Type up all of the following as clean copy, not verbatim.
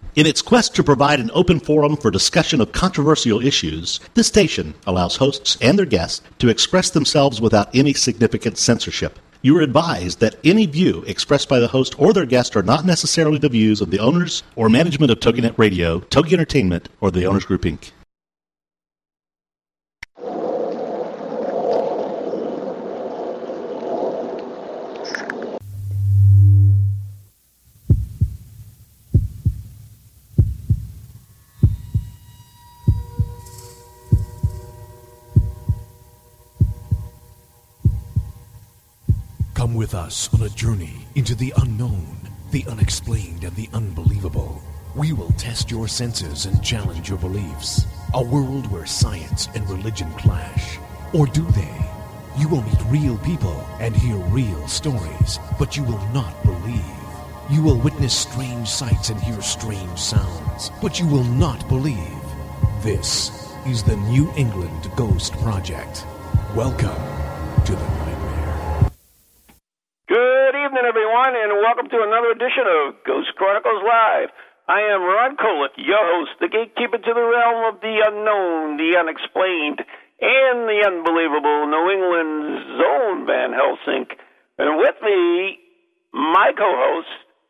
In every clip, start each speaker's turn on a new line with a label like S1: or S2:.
S1: In its quest to provide an open forum for discussion of controversial issues, this station allows hosts and their guests to express themselves without any significant censorship. You are advised that any view expressed by the host or their guest are not necessarily the views of the owners or management of TogiNet Radio, Togi Entertainment, or the Owners Group, Inc.
S2: Come with us on a journey into the unknown, the unexplained, and the unbelievable. We will test your senses and challenge your beliefs. A world where science and religion clash. Or do they? You will meet real people and hear real stories, but you will not believe. You will witness strange sights and hear strange sounds, but you will not believe. This is the New England Ghost Project. Welcome to the nightmare.
S3: Good evening, everyone, and welcome to another edition of Ghost Chronicles Live. I am Ron Kolick, your host, the gatekeeper to the realm of the unknown, the unexplained, and the unbelievable, New England's own Van Helsing. And with me, my co-host,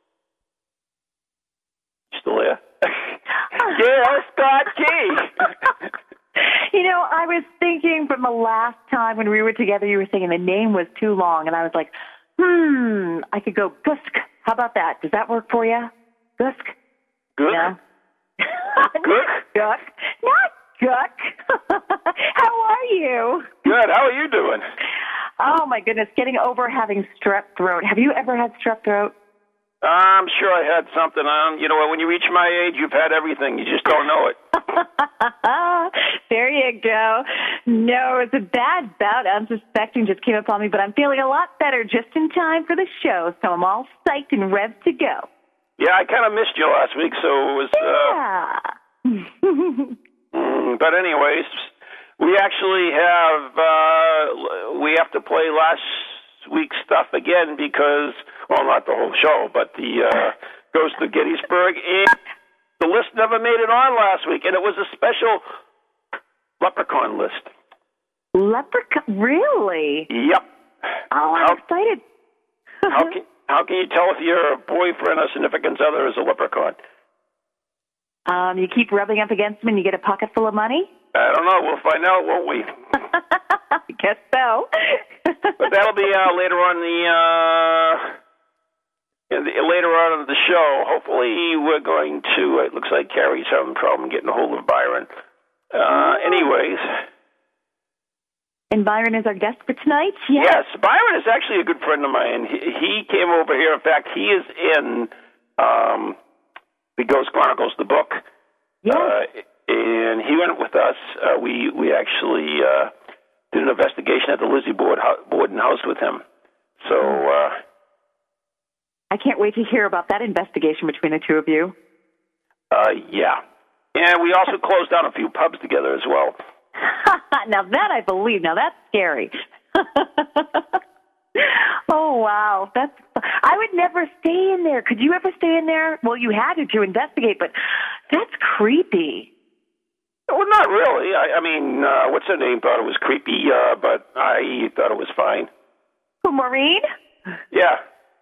S3: still there? Yeah, Scott Key.
S4: You know, I was thinking from the last time when we were together, you were saying the name was too long, and I was like, I could go Gusk. How about that? Does that work for you? Gusk?
S3: Good.
S4: No?
S3: Good.
S4: Guck. Not Guck. How are you?
S3: Good. How are you doing?
S4: Oh, my goodness. Getting over having strep throat. Have you ever had strep throat?
S3: I'm sure I had something on. You know, when you reach my age, you've had everything. You just don't know it.
S4: There you go. No, it's a bad bout. Unsuspecting just came upon me, but I'm feeling a lot better just in time for the show, so I'm all psyched and revved to go.
S3: Yeah, I kind of missed you last week, so it was... But anyways, we actually have to play last week's stuff again because, well, not the whole show, but the Ghost of Gettysburg, and the list never made it on last week, and it was a special Leprechaun list.
S4: Leprechaun? Really?
S3: Yep.
S4: Oh, I'm excited.
S3: How can you tell if your boyfriend or significant other is a leprechaun?
S4: You keep rubbing up against him and you get a pocket full of money?
S3: I don't know. We'll find out, won't we?
S4: I guess so.
S3: But that'll be later on later on in the show. Hopefully we're going to, it looks like Carrie's having a problem getting a hold of Byron. Anyways.
S4: And Byron is our guest for tonight?
S3: Yes, Byron is actually a good friend of mine. He came over here. In fact, he is in the Ghost Chronicles, the book.
S4: Yes.
S3: And he went with us. We actually did an investigation at the Lizzie Borden house with him. So
S4: I can't wait to hear about that investigation between the two of you.
S3: Yeah. And we also closed down a few pubs together as well.
S4: Now that I believe. Now that's scary. Oh, wow. I would never stay in there. Could you ever stay in there? Well, you had to investigate, but that's creepy.
S3: Well, not really. I mean, what's her name thought it was creepy, but I thought it was fine.
S4: Who, Maureen?
S3: Yeah.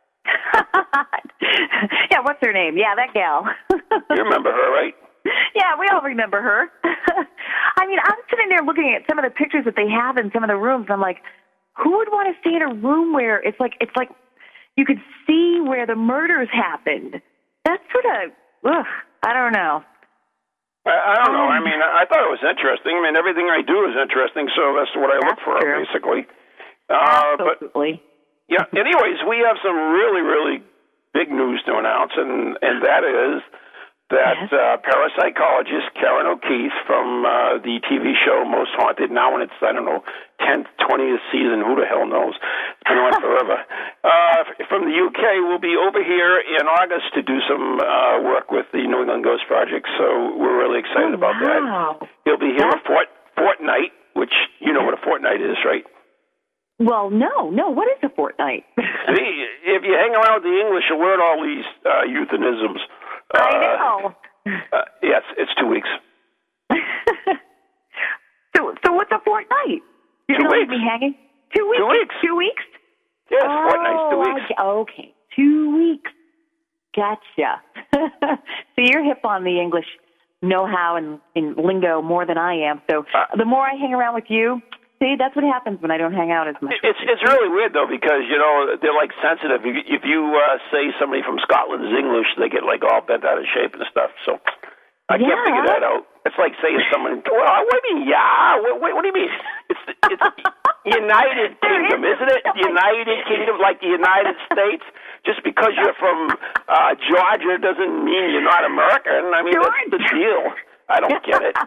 S4: Yeah, what's her name? Yeah, that gal.
S3: You remember her, right?
S4: Yeah, we all remember her. I mean, I'm sitting there looking at some of the pictures that they have in some of the rooms, and I'm like, who would want to stay in a room where it's like you could see where the murders happened? That's sort of, I don't know.
S3: I don't know. I mean, I thought it was interesting. I mean, everything I do is interesting, so that's what I look for,
S4: true.
S3: Basically.
S4: Absolutely.
S3: But, yeah, anyways, we have some really, really big news to announce, and that is that parapsychologist Karen O'Keefe from the TV show Most Haunted, now in its, 10th, 20th season, who the hell knows? It's been on forever. From the UK, will be over here in August to do some work with the New England Ghost Project, so we're really excited about that. He'll be here a fortnight, which you know what a fortnight is, right?
S4: Well, no. What is a fortnight?
S3: See, if you hang around with the English, you'll learn all these euphemisms.
S4: I know. Oh.
S3: Yes, it's 2 weeks.
S4: So what's a fortnight? You're
S3: 2
S4: going to
S3: weeks.
S4: leave me hanging? 2 weeks?
S3: 2 weeks.
S4: 2 weeks?
S3: Yes, fortnight's 2 weeks.
S4: Okay, 2 weeks. Gotcha. So you're hip on the English know-how and lingo more than I am. So the more I hang around with you, see, that's what happens when I don't hang out as much.
S3: It's really weird, though, because, they're, like, sensitive. If you say somebody from Scotland is English, they get, like, all bent out of shape and stuff. So I can't figure that out. It's like saying someone, well, what do you mean, yeah? What do you mean? It's United Kingdom, isn't it? United Kingdom, like the United States. Just because you're from Georgia doesn't mean you're not American. I mean, that's the deal. I don't get it.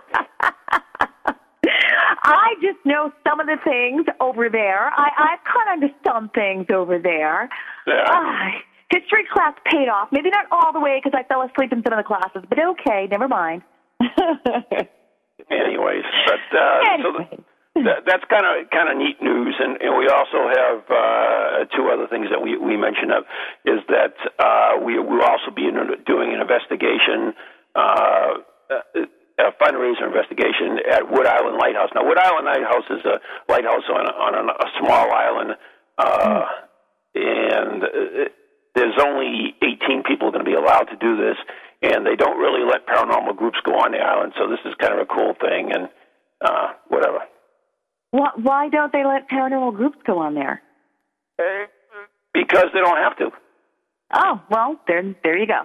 S4: I just know some of the things over there. I've caught on to some things over there.
S3: Yeah.
S4: History class paid off. Maybe not all the way because I fell asleep in some of the classes, but okay, never mind.
S3: Anyways, but so that's kind of neat news, and we also have two other things that we mentioned of is that we will also be doing an investigation, a fundraiser investigation at Wood Island Lighthouse. Now, Wood Island Lighthouse is a lighthouse on a small island, and there's only 18 people going to be allowed to do this, and they don't really let paranormal groups go on the island, so this is kind of a cool thing, and whatever.
S4: Why don't they let paranormal groups go on there?
S3: Because they don't have to.
S4: Oh, well, there you go.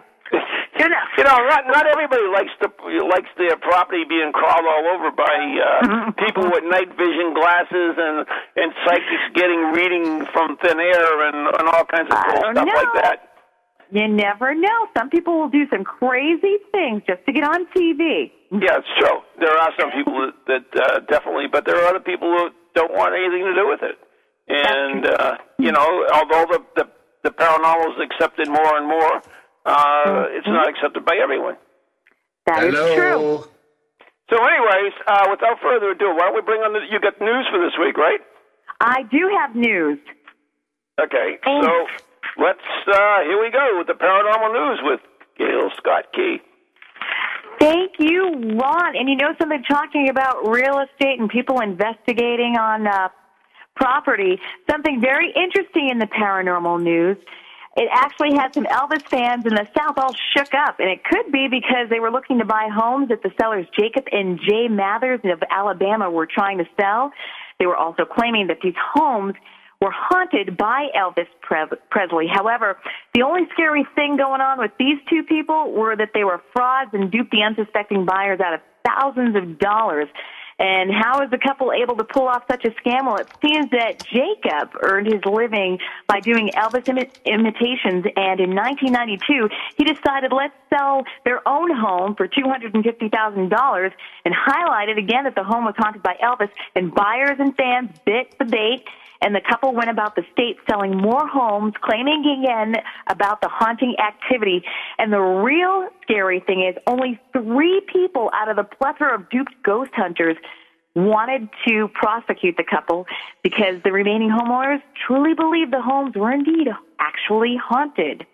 S3: Not everybody likes their property being crawled all over by people with night vision glasses and psychics getting reading from thin air and all kinds of cool stuff like that.
S4: You never know. Some people will do some crazy things just to get on TV.
S3: Yeah, it's true. There are some people that definitely, but there are other people who don't want anything to do with it. And although the paranormal is accepted more and more, it's not accepted by everyone.
S4: That is true.
S3: So anyways, without further ado, why don't we bring on you got news for this week, right?
S4: I do have news.
S3: Okay, so let's, here we go with the paranormal news with Gail Scott Key.
S4: Thank you, Ron. And something, talking about real estate and people investigating on property, something very interesting in the paranormal news. It actually had some Elvis fans in the South all shook up, and it could be because they were looking to buy homes that the sellers Jacob and Jay Mathers of Alabama were trying to sell. They were also claiming that these homes were haunted by Elvis Presley. However, the only scary thing going on with these two people were that they were frauds and duped the unsuspecting buyers out of thousands of dollars. And how is the couple able to pull off such a scam? Well, it seems that Jacob earned his living by doing Elvis imitations, and in 1992, he decided, let's sell their own home for $250,000, and highlighted again that the home was haunted by Elvis, and buyers and fans bit the bait, and the couple went about the state selling more homes, claiming again about the haunting activity. And the real scary thing is only 3 people out of the plethora of duped ghost hunters wanted to prosecute the couple because the remaining homeowners truly believed the homes were indeed actually haunted.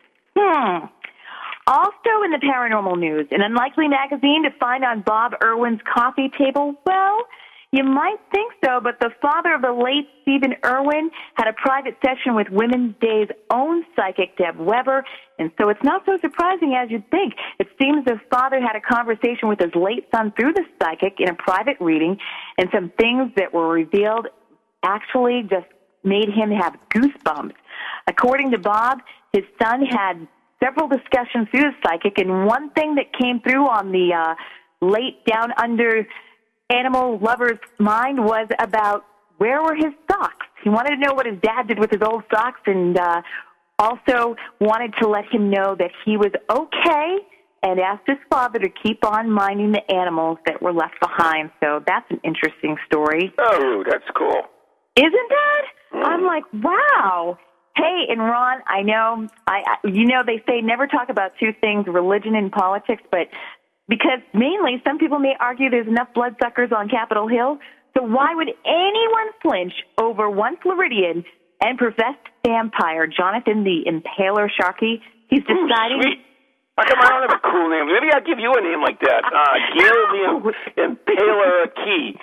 S4: Also in the paranormal news, an unlikely magazine to find on Bob Irwin's coffee table. Well, you might think so, but the father of the late Stephen Irwin had a private session with Women's Day's own psychic, Deb Weber, and so it's not so surprising as you'd think. It seems the father had a conversation with his late son through the psychic in a private reading, and some things that were revealed actually just made him have goosebumps. According to Bob, his son had several discussions through the psychic, and one thing that came through on the late down under animal lover's mind was about where were his socks. He wanted to know what his dad did with his old socks, and also wanted to let him know that he was okay, and asked his father to keep on minding the animals that were left behind. So that's an interesting story.
S3: Oh, that's cool.
S4: Isn't that? I'm like, wow. Hey, and Ron, I know, they say never talk about two things, religion and politics, but because mainly some people may argue there's enough bloodsuckers on Capitol Hill, so why would anyone flinch over one Floridian and professed vampire, Jonathan the Impaler Sharkey? He's deciding...
S3: Sweet. How come I don't have a cool name? Maybe I'll give you a name like that. Gail the Impaler Key.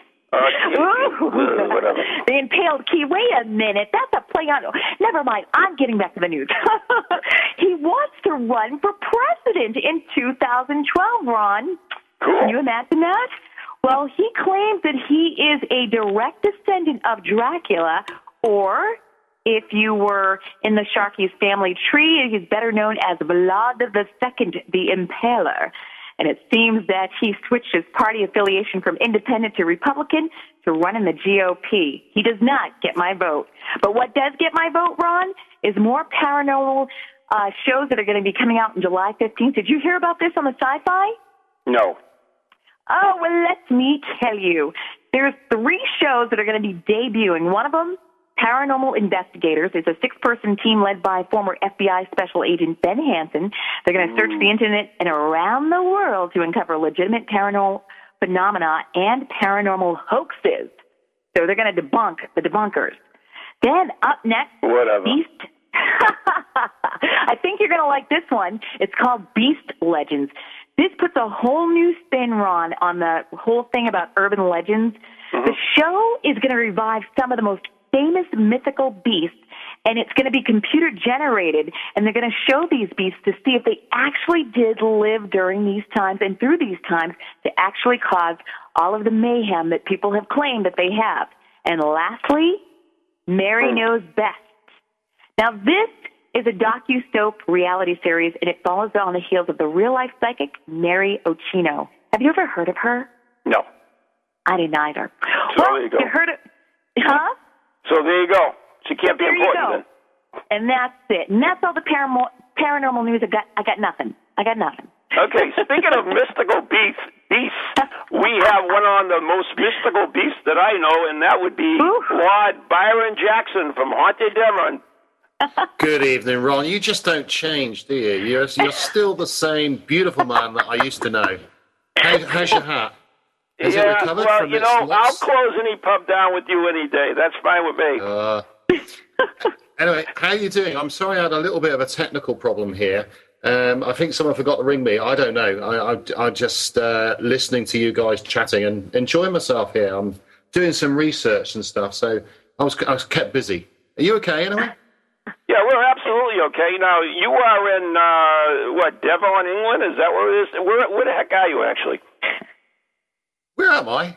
S3: Whatever.
S4: The Impaled Key. Wait a minute. That's a play on... Never mind. I'm getting back to the news. He wants to run for president in 2012, Ron.
S3: Cool.
S4: Can you imagine that? Well, he claims that he is a direct descendant of Dracula, or if you were in the Sharkey's family tree, he's better known as Vlad II, the Impaler. And it seems that he switched his party affiliation from independent to Republican to run in the GOP. He does not get my vote. But what does get my vote, Ron, is more paranormal shows that are going to be coming out on July 15th. Did you hear about this on the Sci-Fi?
S3: No.
S4: Oh, well, let me tell you. There's 3 shows that are going to be debuting. One of them, Paranormal Investigators. It's a 6-person team led by former FBI Special Agent Ben Hansen. They're going to search the Internet and around the world to uncover legitimate paranormal phenomena and paranormal hoaxes. So they're going to debunk the debunkers. Then up next,
S3: Whatever.
S4: Beast. I think you're going to like this one. It's called Beast Legends. This puts a whole new spin, Ron, on the whole thing about urban legends.
S3: Mm-hmm.
S4: The show is going to revive some of the most famous mythical beasts, and it's going to be computer-generated, and they're going to show these beasts to see if they actually did live during these times and through these times to actually cause all of the mayhem that people have claimed that they have. And lastly, Mary Knows Best. Now, this is a docu-soap reality series, and it follows on the heels of the real-life psychic Mary Ochino. Have you ever heard of her?
S3: No.
S4: I didn't either.
S3: So
S4: well,
S3: there you go.
S4: heard of... Huh?
S3: So there you go. She can't be
S4: There you
S3: important
S4: go. And that's it. And that's all the paranormal news. I got nothing.
S3: then. Okay, speaking of mystical beasts, we have one on the most mystical beasts that I know, and that would be Lord Byron Jackson from Haunted Devon.
S5: Good evening, Ron. You just don't change, do you? You're still the same beautiful man that I used to know. How's your hat? Has it recovered
S3: well,
S5: from
S3: you
S5: its
S3: know,
S5: loss?
S3: I'll close any pub down with you any day. That's fine with me.
S5: Anyway, how are you doing? I'm sorry I had a little bit of a technical problem here. I think someone forgot to ring me. I don't know. I'm just listening to you guys chatting and enjoying myself here. I'm doing some research and stuff, so I was kept busy. Are you okay anyway?
S3: Yeah, we're absolutely okay. Now, you are in, Devon, England? Is that where it is? Where the heck are you, actually?
S5: Where am I?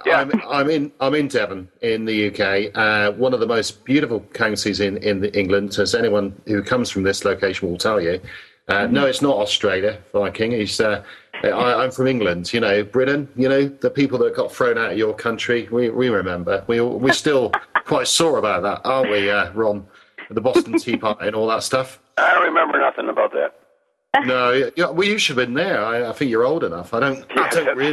S5: I'm in Devon, in the UK, one of the most beautiful counties in England, as anyone who comes from this location will tell you. No, it's not Australia, Viking. I'm from England, Britain, the people that got thrown out of your country. We remember. We're still quite sore about that, aren't we, Ron? The Boston Tea Party and all that stuff.
S3: I don't remember nothing about that.
S5: No, well, you should have been there. I think you're old enough. I don't really.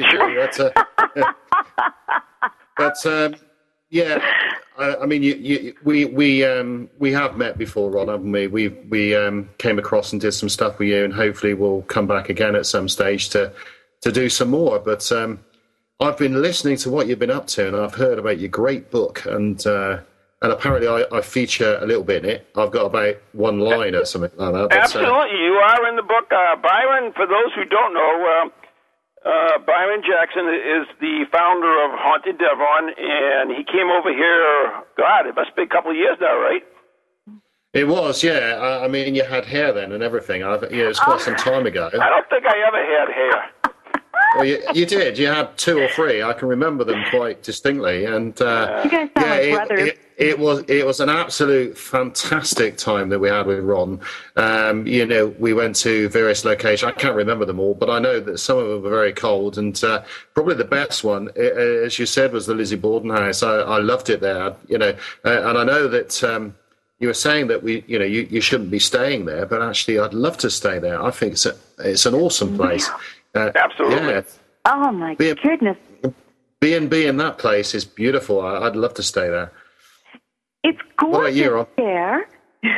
S5: But yeah, I mean, we have met before, Ron, haven't we? We came across and did some stuff with you, and hopefully we'll come back again at some stage to do some more. But I've been listening to what you've been up to, and I've heard about your great book, and apparently I feature a little bit in it. I've got about one line or something like that. But,
S3: absolutely, you are in the book. Byron, for those who don't know, Byron Jackson is the founder of Haunted Devon, and he came over here, God, it must be a couple of years now, right?
S5: It was, yeah. I mean, you had hair then and everything. It was quite some time ago.
S3: I don't think I ever had hair.
S5: Well, you did. You had 2 or 3. I can remember them quite distinctly. And
S4: you guys sound like brothers.
S5: It was an absolute fantastic time that we had with Ron. We went to various locations. I can't remember them all, but I know that some of them were very cold. And probably the best one, as you said, was the Lizzie Borden house. I loved it there. And I know that you were saying that you shouldn't be staying there, but actually, I'd love to stay there. I think it's an awesome place.
S3: Absolutely.
S5: Yeah.
S4: Oh, my goodness.
S5: B&B in that place is beautiful. I'd love to stay there.
S4: It's gorgeous
S5: What about you, Ron?
S4: there,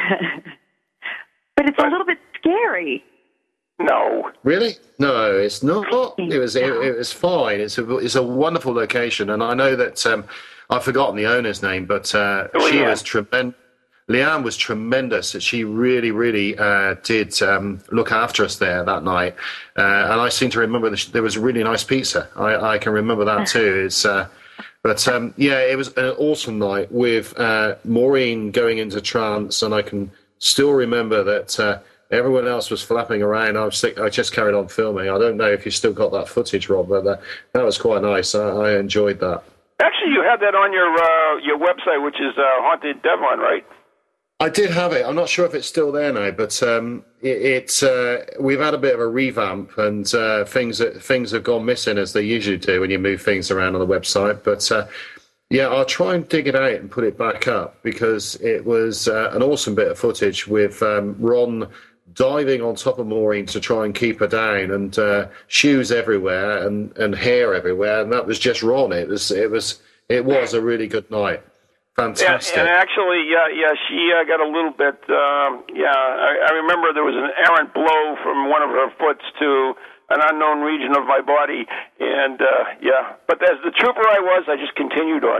S4: but it's a little bit scary.
S3: No.
S5: Really? No, it's not. It was fine. It's a wonderful location, and I know that I've forgotten the owner's name, but she was tremendous. Leanne was tremendous. She really, really did look after us there that night. And I seem to remember there was really nice pizza. I can remember that too. It was an awesome night with Maureen going into trance, and I can still remember that everyone else was flapping around. I just carried on filming. I don't know if you still got that footage, Rob, but that was quite nice. I enjoyed that. Actually,
S3: you had that on your website, which is Haunted Devon, right?
S5: I did have it. I'm not sure if it's still there now, but we've had a bit of a revamp, and things have gone missing, as they usually do when you move things around on the website. But I'll try and dig it out and put it back up, because it was an awesome bit of footage with Ron diving on top of Maureen to try and keep her down, and shoes everywhere and hair everywhere, and that was just Ron. It was a really good night. Fantastic.
S3: And actually, she got a little bit, I remember there was an errant blow from one of her foots to an unknown region of my body, and but as the trooper I was, I just continued on.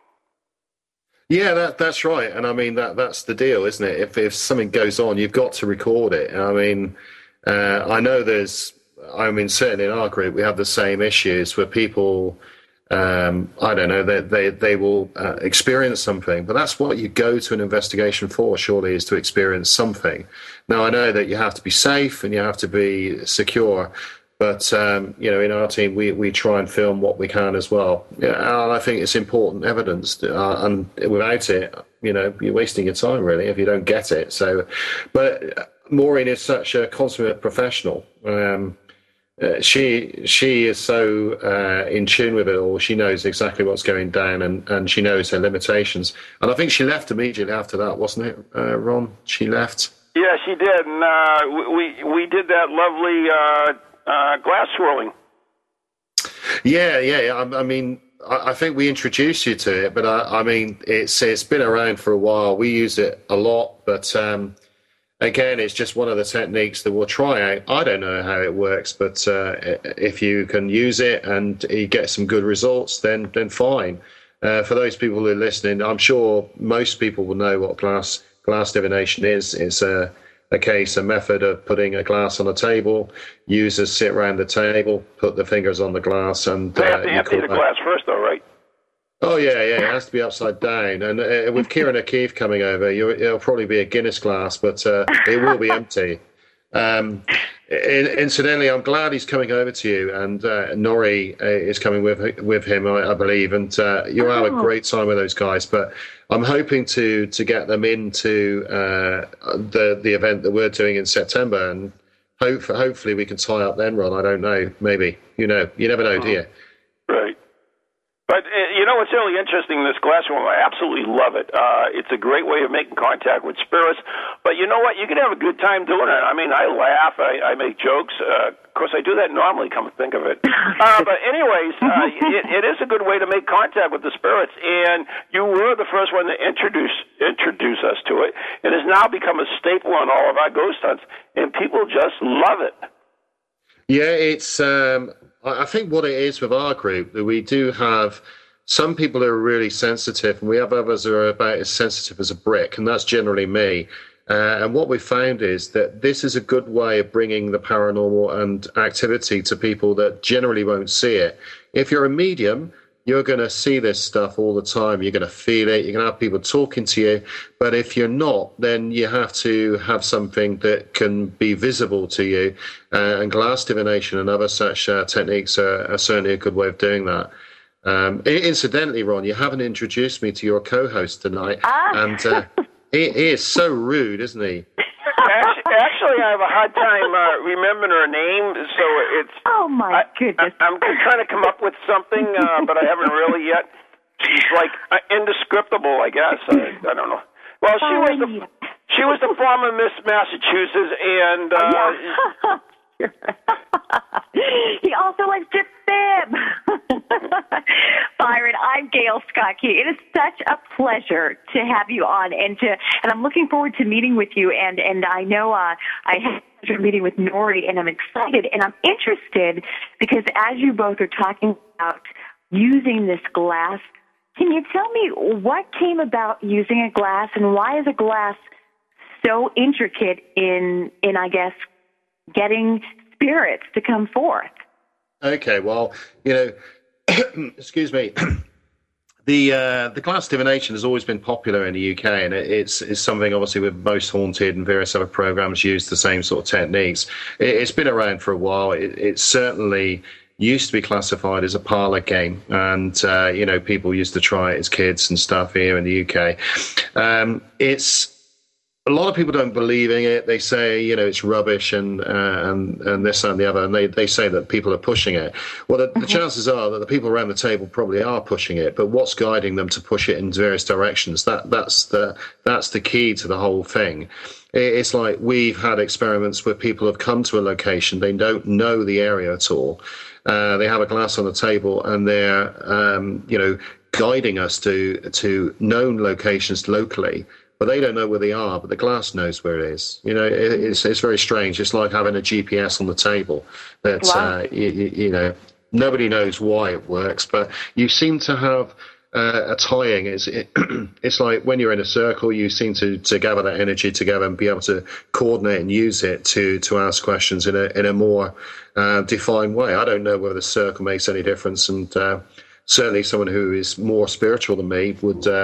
S5: Yeah, that's right, and I mean that's the deal, isn't it? If something goes on, you've got to record it. I mean, I know certainly in our group we have the same issues where people. I don't know, they will experience something, but that's what you go to an investigation for, surely, is to experience something. Now, I know that you have to be safe and you have to be secure, but in our team we try and film what we can as well. And I think it's important evidence, and without it, you're wasting your time, really, if you don't get it. So, but Maureen is such a consummate professional. She is so in tune with it all. She knows exactly what's going down, and she knows her limitations. And I think she left immediately after that, wasn't it, Ron? She left.
S3: Yeah, she did. And we did that lovely glass swirling.
S5: Yeah. I mean, I think we introduced you to it, but I mean, it's been around for a while. We use it a lot, but. Again, it's just one of the techniques that we'll try out. I don't know how it works, but if you can use it and you get some good results, then fine. For those people who are listening, I'm sure most people will know what glass divination is. It's a method of putting a glass on a table. Users sit around the table, put the fingers on the glass, and
S3: they have to empty the glass first, though, right?
S5: Oh, yeah, it has to be upside down. And with Kieran O'Keefe coming over, it'll probably be a Guinness glass, but it will be empty. Incidentally, I'm glad he's coming over to you, and Norrie is coming with him, I believe, and you'll have a great time with those guys. But I'm hoping to get them into the event that we're doing in September, and hopefully we can tie up then, Ron. I don't know, maybe. You never know, do you?
S3: Right. But, it's really interesting, this glass room. I absolutely love it. It's a great way of making contact with spirits. But you know what? You can have a good time doing it. I mean, I laugh. I make jokes. Of course, I do that normally, come to think of it. But anyways, it is a good way to make contact with the spirits. And you were the first one to introduce us to it. It has now become a staple on all of our ghost hunts. And people just love it.
S5: Yeah, it's... I think what it is with our group, that we do have some people who are really sensitive, and we have others who are about as sensitive as a brick, and that's generally me. And what we found is that this is a good way of bringing the paranormal and activity to people that generally won't see it. If you're a medium, you're going to see this stuff all the time. You're going to feel it. You're going to have people talking to you. But if you're not, then you have to have something that can be visible to you. And glass divination and other such techniques are certainly a good way of doing that. Incidentally, Ron, you haven't introduced me to your co-host tonight. And he is so rude, isn't he?
S3: Actually, I have a hard time remembering her name, so it's...
S4: Oh, my goodness.
S3: I'm trying to come up with something, but I haven't really yet. She's, like, indescriptible, I guess. I don't know. Well, she was the former Miss Massachusetts, and...
S4: He also likes to fib. Byron, I'm Gail Scott Key. It is such a pleasure to have you on, and I'm looking forward to meeting with you. And I know I had a meeting with Norrie, and I'm excited, and I'm interested because as you both are talking about using this glass Can you tell me what came about using a glass, and why is a glass so intricate in I guess, getting spirits to come forth?
S5: Okay, well, excuse me. The glass divination has always been popular in the UK, and it's something obviously with Most Haunted and various other programs use the same sort of techniques. It's been around for a while. It certainly used to be classified as a parlour game, and people used to try it as kids and stuff here in the UK. It's a lot of people don't believe in it. They say, it's rubbish and this and the other, and they say that people are pushing it. Well, the chances are that the people around the table probably are pushing it, but what's guiding them to push it in various directions? That's the key to the whole thing. It's like we've had experiments where people have come to a location, they don't know the area at all. They have a glass on the table, and they're, guiding us to known locations locally. But they don't know where they are, but the glass knows where it is. It's very strange. It's like having a GPS on the table. That wow. Nobody knows why it works, but you seem to have a tying. It's like when you're in a circle, you seem to gather that energy together and be able to coordinate and use it to ask questions in a more defined way. I don't know whether the circle makes any difference, and certainly someone who is more spiritual than me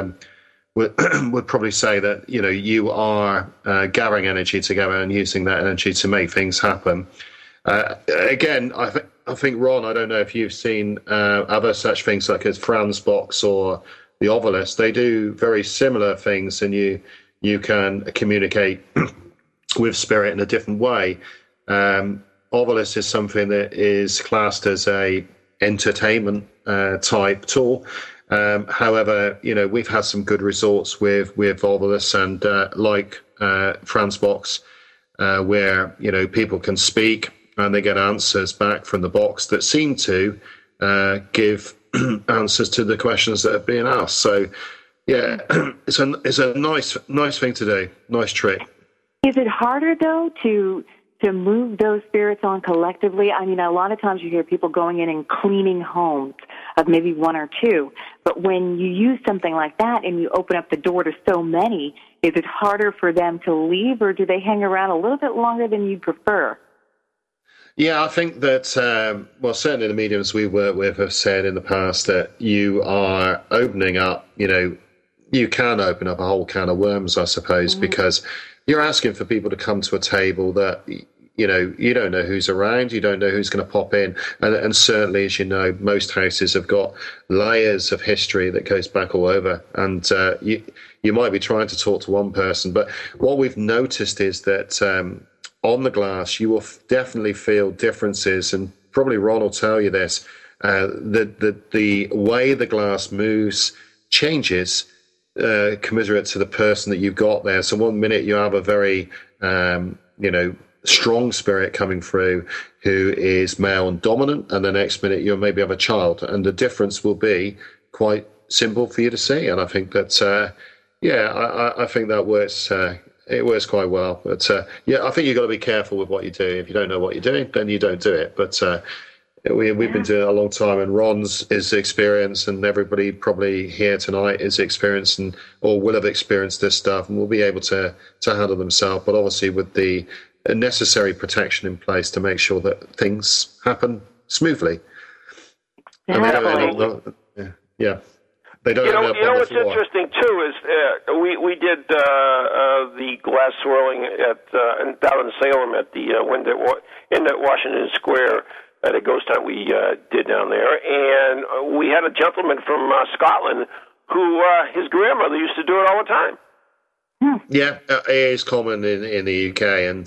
S5: would probably say that you are gathering energy together and using that energy to make things happen. Again, I think Ron, I don't know if you've seen other such things like as Franz Box or the Ovilus. They do very similar things, and you can communicate with spirit in a different way. Ovilus is something that is classed as a entertainment type tool. However, we've had some good results with Ovilus and like Franz Box, where people can speak and they get answers back from the box that seem to give answers to the questions that are being asked. So, yeah, it's a nice thing to do, nice trick.
S4: Is it harder though to move those spirits on collectively? I mean, a lot of times you hear people going in and cleaning homes of maybe one or two, but when you use something like that and you open up the door to so many, is it harder for them to leave, or do they hang around a little bit longer than you'd prefer?
S5: Yeah, I think that, certainly the mediums we work with have said in the past that you are opening up, you can open up a whole can of worms, I suppose, because you're asking for people to come to a table that, you don't know who's around, you don't know who's going to pop in. And certainly, as you know, most houses have got layers of history that goes back all over. And you might be trying to talk to one person, but what we've noticed is that on the glass, you will definitely feel differences. And probably Ron will tell you this, the way the glass moves changes commiserate to the person that you've got there. So one minute you have a very, strong spirit coming through who is male and dominant, and the next minute you'll maybe have a child, and the difference will be quite simple for you to see. And I think that, I think that works. It works quite well. But I think you've got to be careful with what you do. If you don't know what you're doing, then you don't do it. But we've been doing it a long time, and Ron's is experienced, and everybody probably here tonight is experienced or will have experienced this stuff, and will be able to handle themselves. But obviously with the necessary protection in place to make sure that things happen smoothly.
S4: Exactly.
S5: They don't.
S3: What's interesting too is we did the glass swirling down in Salem at the in the Washington Square at a ghost hunt we did down there, and we had a gentleman from Scotland who his grandmother used to do it all the time.
S5: Yeah, it is common in the UK, and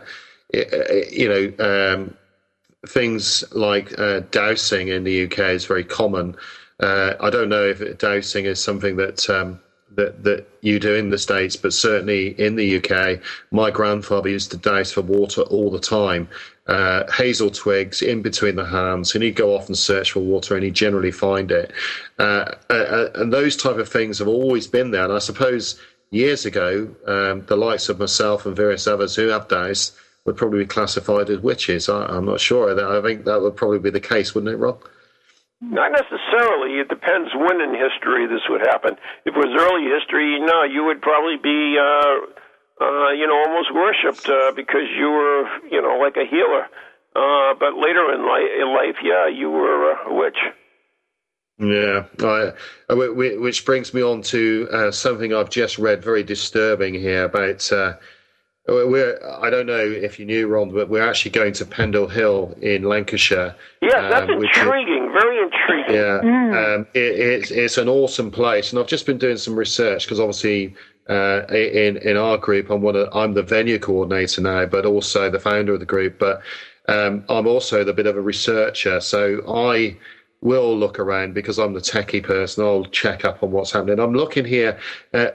S5: things like dowsing in the UK is very common. I don't know if dowsing is something that you do in the States, but certainly in the UK, my grandfather used to douse for water all the time. Hazel twigs in between the hands, and he'd go off and search for water, and he'd generally find it. And those type of things have always been there. And I suppose years ago, the likes of myself and various others who have doused would probably be classified as witches. I'm not sure. I think that would probably be the case, wouldn't it, Rob?
S3: Not necessarily. It depends when in history this would happen. If it was early history, no, you would probably be, almost worshipped because you were, like a healer. But later in life, yeah, you were a witch.
S5: Yeah, which brings me on to something I've just read, very disturbing here about. I don't know if you knew, Ron, but we're actually going to Pendle Hill in Lancashire.
S3: Yeah, that's intriguing, very intriguing.
S5: Yeah, it's an awesome place, and I've just been doing some research because obviously in our group, I'm the venue coordinator now, but also the founder of the group. But I'm also the bit of a researcher, so I will look around because I'm the techie person. I'll check up on what's happening. I'm looking here at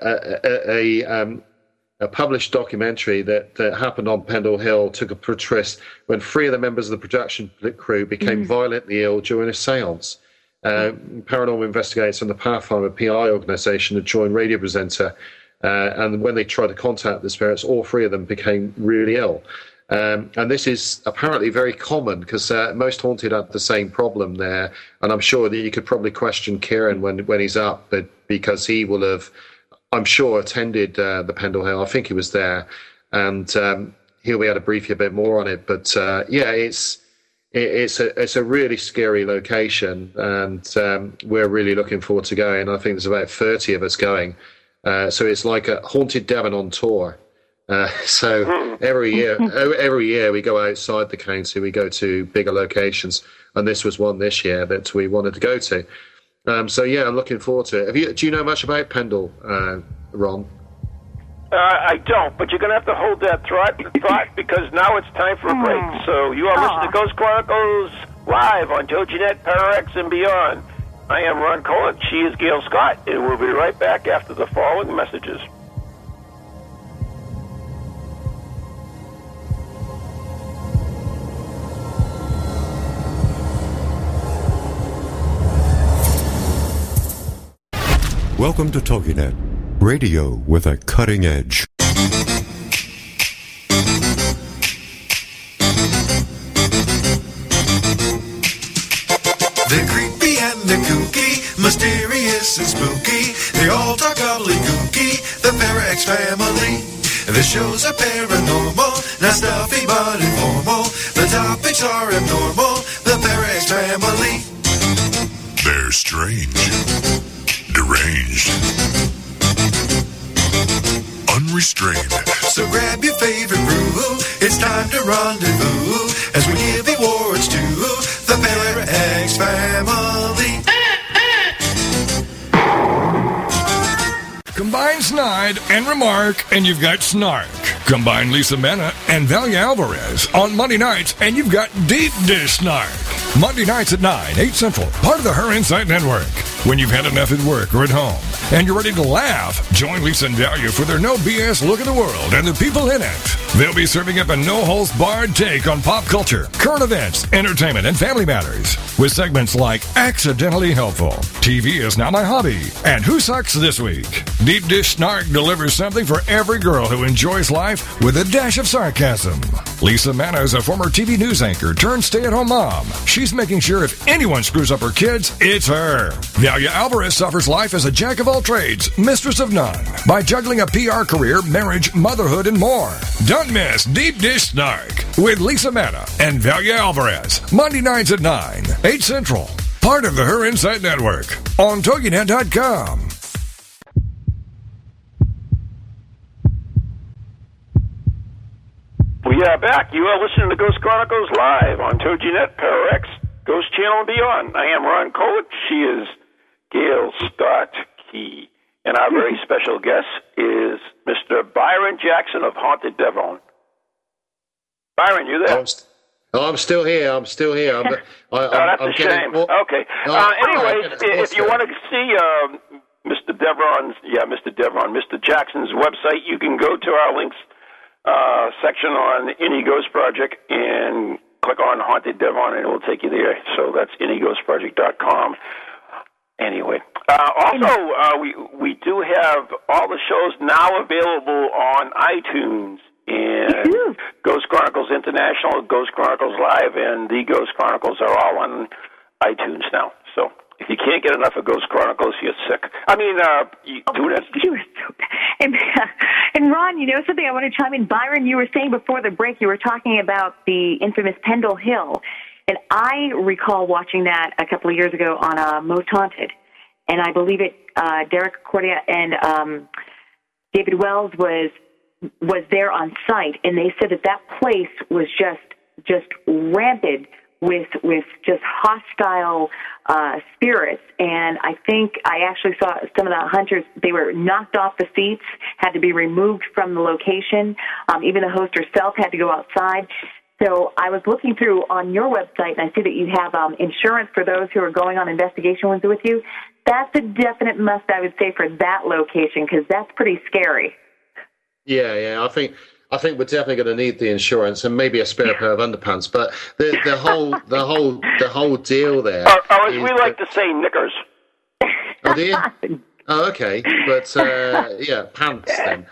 S5: a published documentary that happened on Pendle Hill took a twist when 3 of the members of the production crew became violently ill during a séance. Paranormal investigators from the Pathfinder PI organisation had joined radio presenter, and when they tried to contact the spirits, all 3 of them became really ill. And this is apparently very common because most haunted had the same problem there. And I'm sure that you could probably question Kieran when he's up, but because he will have, I'm sure, attended the Pendle Hill. I think he was there, and he'll be able to brief you a bit more on it. But yeah, it's a really scary location, and we're really looking forward to going. I think there's about 30 of us going, so it's like a Haunted Devon on tour. So every year we go outside the county, we go to bigger locations, and this was one this year that we wanted to go to. So yeah, I'm looking forward to it. Do you know much about Pendle, Ron?
S3: I don't, but you're going to have to hold that thought because now it's time for a break. So you are listening to Ghost Chronicles live on TogiNet, PowerX, and beyond. I am Ron Cohen. She is Gail Scott, and we'll be right back after the following messages.
S6: Welcome to TogiNet, radio with a cutting edge.
S7: They're creepy and they're kooky, mysterious and spooky. They all talk gobbledygooky, the PowerX family. The shows are paranormal, not stuffy but informal. The topics are abnormal, the PowerX family.
S2: They're strange, deranged, unrestrained.
S7: So grab your favorite brew, it's time to rendezvous as we give awards to the PowerX family.
S8: Combine Snide and Remark, and you've got Snark. Combine Lisa Mena and Valia Alvarez on Monday nights, and you've got Deep Dish Snark. Monday nights at 9, 8 Central, part of the Her Insight Network. When you've had enough at work or at home, and you're ready to laugh, join Lisa and Valia for their no BS look at the world and the people in it. They'll be serving up a no-holds-barred take on pop culture, current events, entertainment, and family matters, with segments like Accidentally Helpful, TV is Now My Hobby, and Who Sucks This Week. Deep Dish Snark delivers something for every girl who enjoys life with a dash of sarcasm. Lisa Mena is a former TV news anchor turned stay-at-home mom. She's making sure if anyone screws up her kids, it's her. Valia Alvarez suffers life as a jack of all trades, mistress of none, by juggling a PR career, marriage, motherhood, and more. Don't miss Deep Dish Snark with Lisa Mena and Valia Alvarez, Monday nights at 9, 8 Central, part of the Her Insight Network, on TogiNet.com.
S3: We are back. You are listening to Ghost Chronicles live on TogiNet, PowerX, Ghost Channel, and beyond. I am Ron Cohen. She is Gail Scott Key. And our very special guest is Mr. Byron Jackson of Haunted Devon. Byron, you there?
S5: I'm still here. I'm still here.
S3: That's a shame. Okay. Anyways, if you want to see Mr. Jackson's website, you can go to our links section on Any Ghost Project and click on Haunted Devon, and it will take you there. So that's anyghostproject.com. Anyway, we do have all the shows now available on iTunes, and Ghost Chronicles International, Ghost Chronicles Live, and The Ghost Chronicles are all on iTunes now. So enough of Ghost Chronicles, you're sick. I mean, you do that.
S4: You were so bad. And Ron, you know something I want to chime in? Byron, you were saying before the break, you were talking about the infamous Pendle Hill. And I recall watching that a couple of years ago on Most Haunted. And I believe Derek Cordia and David Wells was there on site, and they said that place was just rampant with just hostile spirits. And I think I actually saw some of the hunters, they were knocked off the seats, had to be removed from the location. Even the host herself had to go outside. So I was looking through on your website, and I see that you have insurance for those who are going on investigations with you. That's a definite must, I would say, for that location, because that's pretty scary.
S5: Yeah, I think we're definitely going to need the insurance and maybe a spare pair of underpants. But the whole deal there.
S3: Or as we like to say, knickers.
S5: Oh, do you? Oh, okay. But yeah, pants then.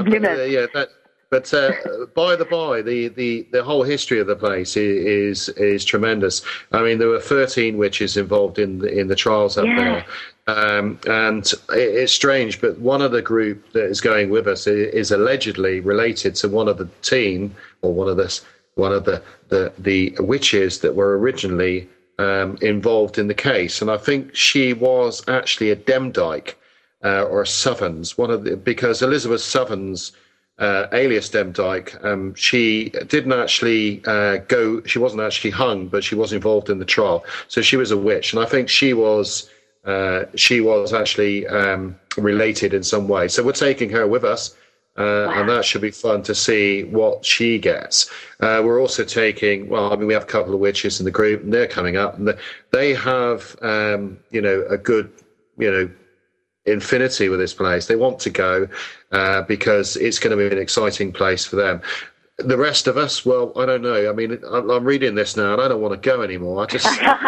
S5: But by the by, the whole history of the place is tremendous. I mean, there were 13 witches involved in the trials up there. And it's strange, but one of the group that is going with us is allegedly related to one of the team, or one of the witches that were originally involved in the case. And I think she was actually a Demdike or a Southerns, because Elizabeth Southerns, alias Demdike, she didn't actually she wasn't actually hung, but she was involved in the trial. So she was a witch, and I think she was actually related in some way. So we're taking her with us, and that should be fun to see what she gets. We're also taking, we have a couple of witches in the group, and they're coming up, and they have, a good, infinity with this place. They want to go because it's going to be an exciting place for them. The rest of us, well, I don't know. I mean, I'm reading this now, and I don't want to go anymore. I just,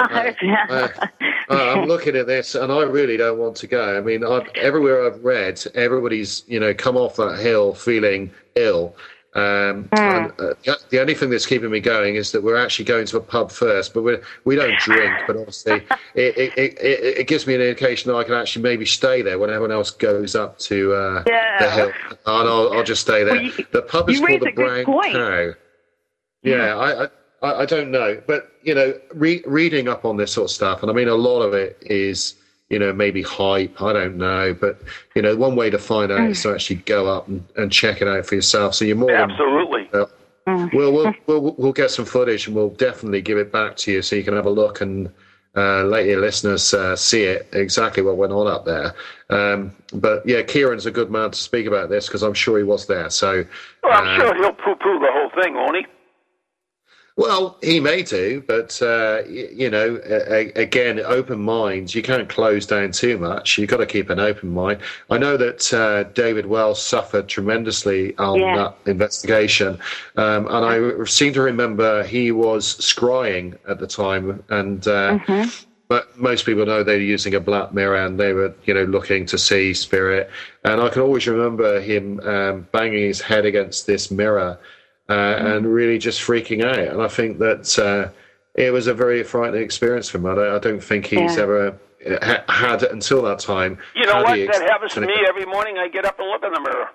S5: I'm looking at this, and I really don't want to go. I mean, everywhere I've read, everybody's, come off that hill feeling ill. And the only thing that's keeping me going is that we're actually going to a pub first, but we don't drink. But obviously, it gives me an indication that I can actually maybe stay there when everyone else goes up to the hill, and I'll just stay there. The pub is called the Brown Cow. Yeah, I don't know, but reading up on this sort of stuff, and I mean, a lot of it is, maybe hype. I don't know, but one way to find out is to actually go up and check it out for yourself. So you're more
S3: absolutely.
S5: We'll get some footage, and we'll definitely give it back to you so you can have a look and let your listeners see it exactly what went on up there. But yeah, Kieran's a good man to speak about this because I'm sure he was there. So
S3: I'm sure he'll poo-poo the whole thing, won't he?
S5: Well, he may do, but, again, open minds, you can't close down too much. You've got to keep an open mind. I know that David Wells suffered tremendously on that investigation, and I seem to remember he was scrying at the time, and but most people know they were using a black mirror, and they were, looking to see spirit. And I can always remember him banging his head against this mirror, and really just freaking out. And I think that it was a very frightening experience for him. I don't think he's ever had, until that time.
S3: You know what? That happens to me every morning. I get up and look in the mirror.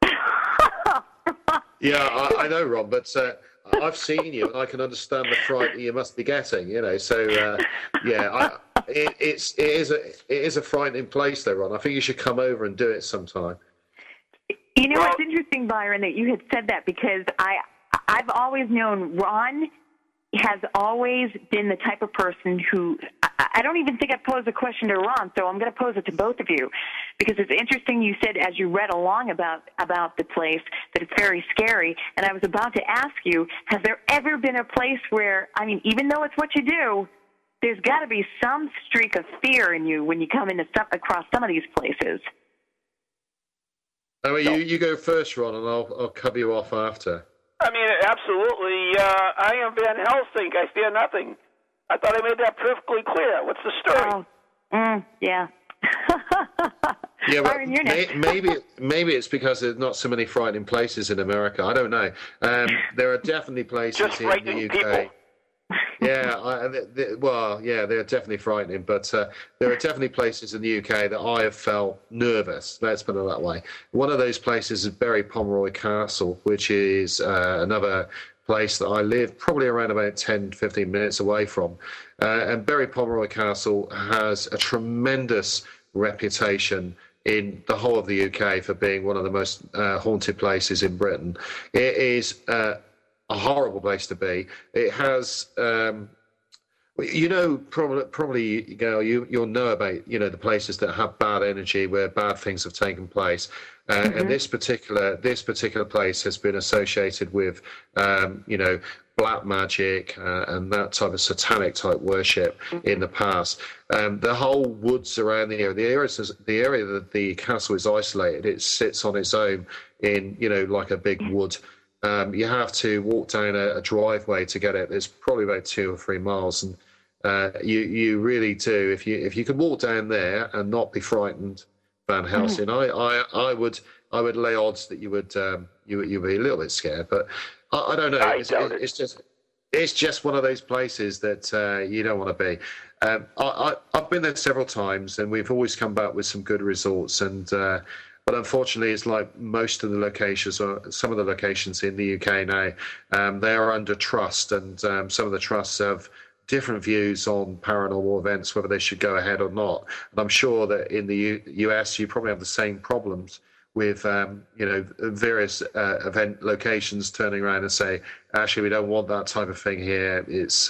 S5: Yeah, I know, Ron, but I've seen you, and I can understand the fright that you must be getting, So, it is a frightening place, though, Ron. I think you should come over and do it sometime.
S4: It's interesting, Byron, that you had said that, because I've always known Ron has always been the type of person who, I don't even think I posed a question to Ron, so I'm going to pose it to both of you, because it's interesting you said as you read along about the place that it's very scary, and I was about to ask you, has there ever been a place where, even though it's what you do, there's got to be some streak of fear in you when you come across some of these places?
S5: Oh, you go first, Ron, and I'll cover you off after.
S3: Absolutely. I am Van Helsing. I fear nothing. I thought I made that perfectly clear. What's the story?
S4: Yeah.
S5: Yeah, but maybe it's because there's not so many frightening places in America. I don't know. There are definitely places
S3: just
S5: in the UK.
S3: People.
S5: they're definitely frightening, but there are definitely places in the UK that I have felt nervous, let's put it that way. One of those places is Berry Pomeroy Castle, which is another place that I live probably around about 10, 15 minutes away from. And Berry Pomeroy Castle has a tremendous reputation in the whole of the UK for being one of the most haunted places in Britain. It is a horrible place to be. It has, probably, you'll know about, the places that have bad energy where bad things have taken place. And this particular place has been associated with, black magic and that type of satanic type worship in the past. The whole woods around the area that the castle is isolated, it sits on its own in, like a big wood. You have to walk down a driveway to get it. It's probably about 2 or 3 miles, and you really do. If you could walk down there and not be frightened, Van Helsing, I would lay odds that you would be a little bit scared, but I don't know. It's just one of those places that you don't want to be. I've been there several times, and we've always come back with some good results. But unfortunately, it's like most of the locations, or some of the locations in the UK now, they are under trust, and some of the trusts have different views on paranormal events, whether they should go ahead or not. And I'm sure that in the US, you probably have the same problems with various event locations turning around and say, actually, we don't want that type of thing here. It's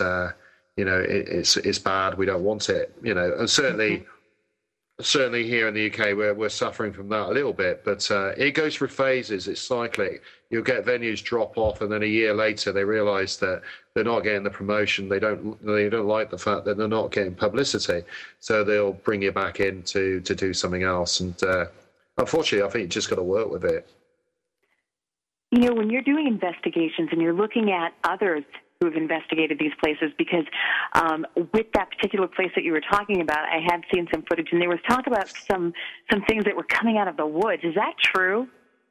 S5: it's bad. We don't want it. And certainly here in the UK, we're suffering from that a little bit. But it goes through phases. It's cyclic. You'll get venues drop off, and then a year later they realise that they're not getting the promotion. They don't like the fact that they're not getting publicity, so they'll bring you back in to do something else. And unfortunately, I think you just got to work with it.
S4: When you're doing investigations and you're looking at others who have investigated these places, because with that particular place that you were talking about, I had seen some footage, and there was talk about some things that were coming out of the woods. Is that true?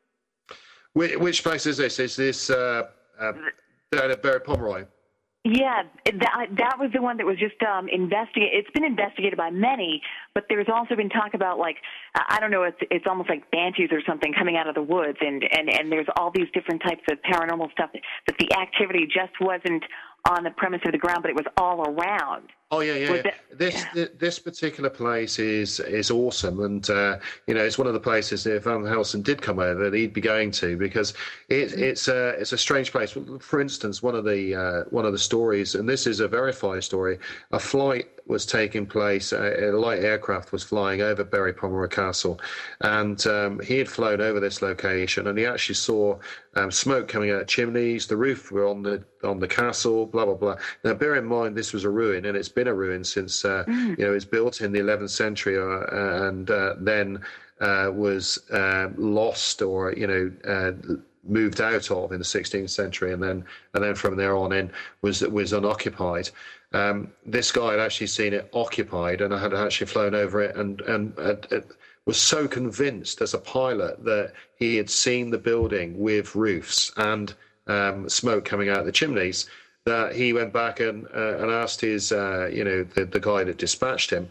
S5: Which place is this? Is this down at Berry Pomeroy?
S4: Yeah, that was the one that was just investigated. It's been investigated by many, but there's also been talk about, like, I don't know, it's almost like banshees or something coming out of the woods, and there's all these different types of paranormal stuff that the activity just wasn't on the premise of the ground, but it was all around.
S5: Oh yeah. This particular place is awesome, and it's one of the places that if Van Helsing did come over, that he'd be going to, because it's a strange place. For instance, one of the stories, and this is a verified story, a flight was taking place. A light aircraft was flying over Berry Pomeroy Castle, and he had flown over this location, and he actually saw smoke coming out of chimneys. The roof were on the castle. Blah blah blah. Now, bear in mind, this was a ruin, and it's been a ruin since it was built in the 11th century, and then was lost or moved out of in the 16th century, and then from there on in was unoccupied. This guy had actually seen it occupied, and I had actually flown over it, and was so convinced as a pilot that he had seen the building with roofs and smoke coming out of the chimneys, that he went back and asked his the guy that dispatched him,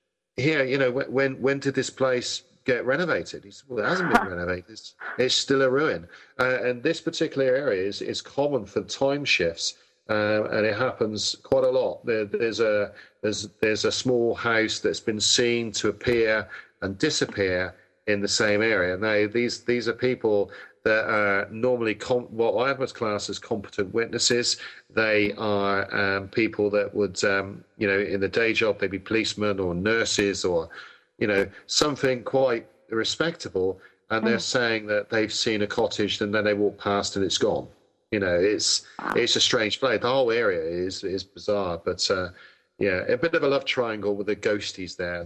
S5: when did this place get renovated? He said, well, it hasn't been renovated. It's still a ruin. And this particular area is common for time shifts, and it happens quite a lot. There's a small house that's been seen to appear and disappear in the same area. Now, these are people that are normally what I would class as competent witnesses. They are people that would, in the day job, they'd be policemen or nurses or, something quite respectable, and they're saying that they've seen a cottage, and then they walk past and it's gone. It's a strange place. The whole area is bizarre, but a bit of a love triangle with the ghosties there.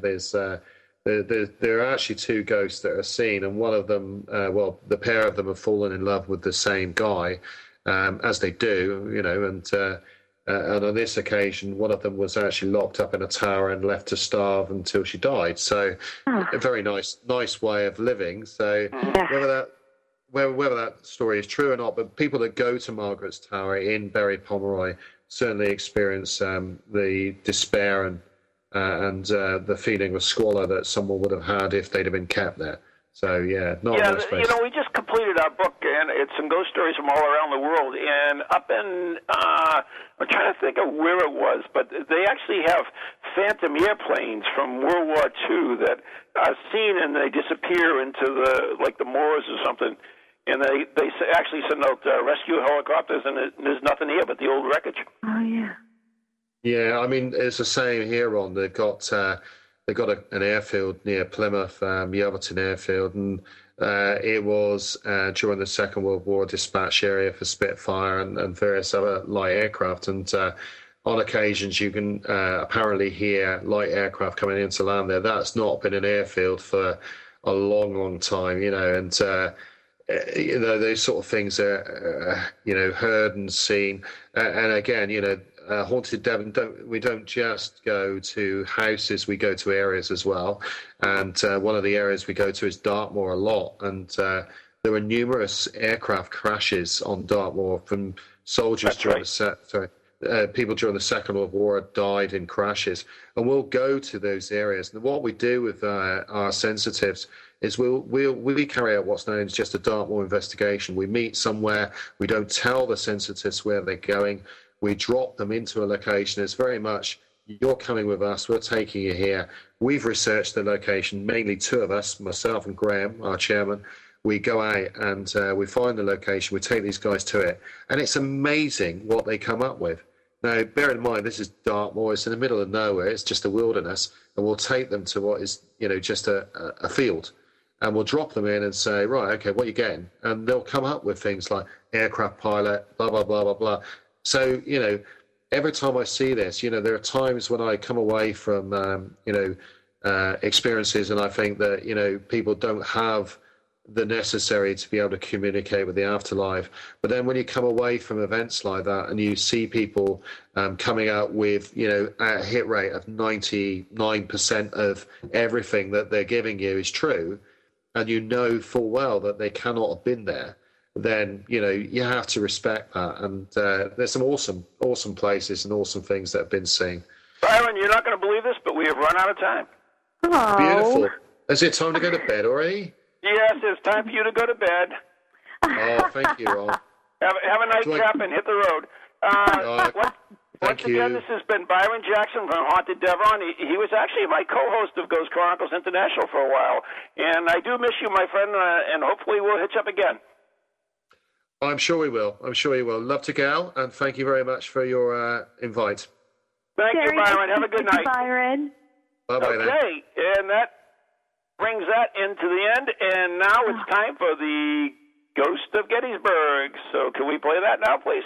S5: There are actually two ghosts that are seen, and one of them, the pair of them have fallen in love with the same guy, as they do, and on this occasion, one of them was actually locked up in a tower and left to starve until she died. So, a very nice way of living. So, whether that story is true or not, but people that go to Margaret's Tower in Berry Pomeroy certainly experience the despair and the feeling of squalor that someone would have had if they'd have been kept there. So, not a nice place.
S3: We just completed our book, and it's some ghost stories from all around the world. And up in, I'm trying to think of where it was, but they actually have phantom airplanes from World War II that are seen and they disappear into the moors or something. And they actually send out rescue helicopters, and there's nothing here but the old wreckage.
S4: Oh, yeah.
S5: Yeah, I mean, it's the same here, Ron. They've got an airfield near Plymouth, Yeovilton Airfield, and it was during the Second World War dispatch area for Spitfire and various other light aircraft. And on occasions, you can apparently hear light aircraft coming into land there. That's not been an airfield for a long, long time, and those sort of things are, heard and seen. And again, Haunted Devon, we don't just go to houses, we go to areas as well. And one of the areas we go to is Dartmoor a lot. And there were numerous aircraft crashes on Dartmoor from soldiers people during the Second World War died in crashes. And we'll go to those areas. And what we do with our sensitives is we carry out what's known as just a Dartmoor investigation. We meet somewhere, we don't tell the sensitives where they're going. We drop them into a location. It's very much, you're coming with us, we're taking you here. We've researched the location, mainly two of us, myself and Graham, our chairman. We go out and we find the location, we take these guys to it. And it's amazing what they come up with. Now, bear in mind, this is Dartmoor, it's in the middle of nowhere, it's just a wilderness, and we'll take them to what is, just a field. And we'll drop them in and say, right, okay, what are you getting? And they'll come up with things like aircraft pilot, blah, blah, blah, blah, blah. So, every time I see this, there are times when I come away from, experiences and I think that, people don't have the necessary to be able to communicate with the afterlife. But then when you come away from events like that and you see people coming out with, a hit rate of 99% of everything that they're giving you is true, and you know full well that they cannot have been there, then, you have to respect that. And there's some awesome places and awesome things that have been seen.
S3: Byron, you're not going to believe this, but we have run out of time.
S4: Oh.
S5: Beautiful. Is it time to go to bed already?
S3: Yes, it's time for you to go to bed.
S5: Oh, thank you, Ron.
S3: Have a nice nap and hit the road. Once again, this has been Byron Jackson from Haunted Devon. He was actually my co-host of Ghost Chronicles International for a while. And I do miss you, my friend, and hopefully we'll hitch up again.
S5: I'm sure we will. Love to go, and thank you very much for your invite.
S3: Thank you, Byron. Have a good night.
S4: Byron.
S5: Bye-bye then.
S3: Okay, and that brings that into the end, and now it's time for the Ghost of Gettysburg. So can we play that now, please?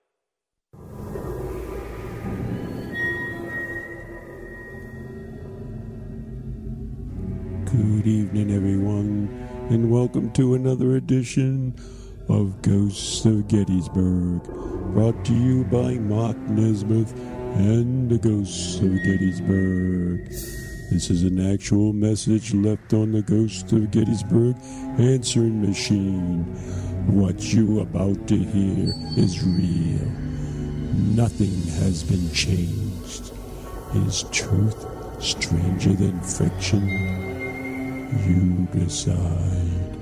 S9: Good evening, everyone, and welcome to another edition of Ghosts of Gettysburg, brought to you by Mark Nesmith and the Ghosts of Gettysburg. This is an actual message left on the Ghost of Gettysburg answering machine. What you're about to hear is real. Nothing has been changed. Is truth stranger than fiction? You decide.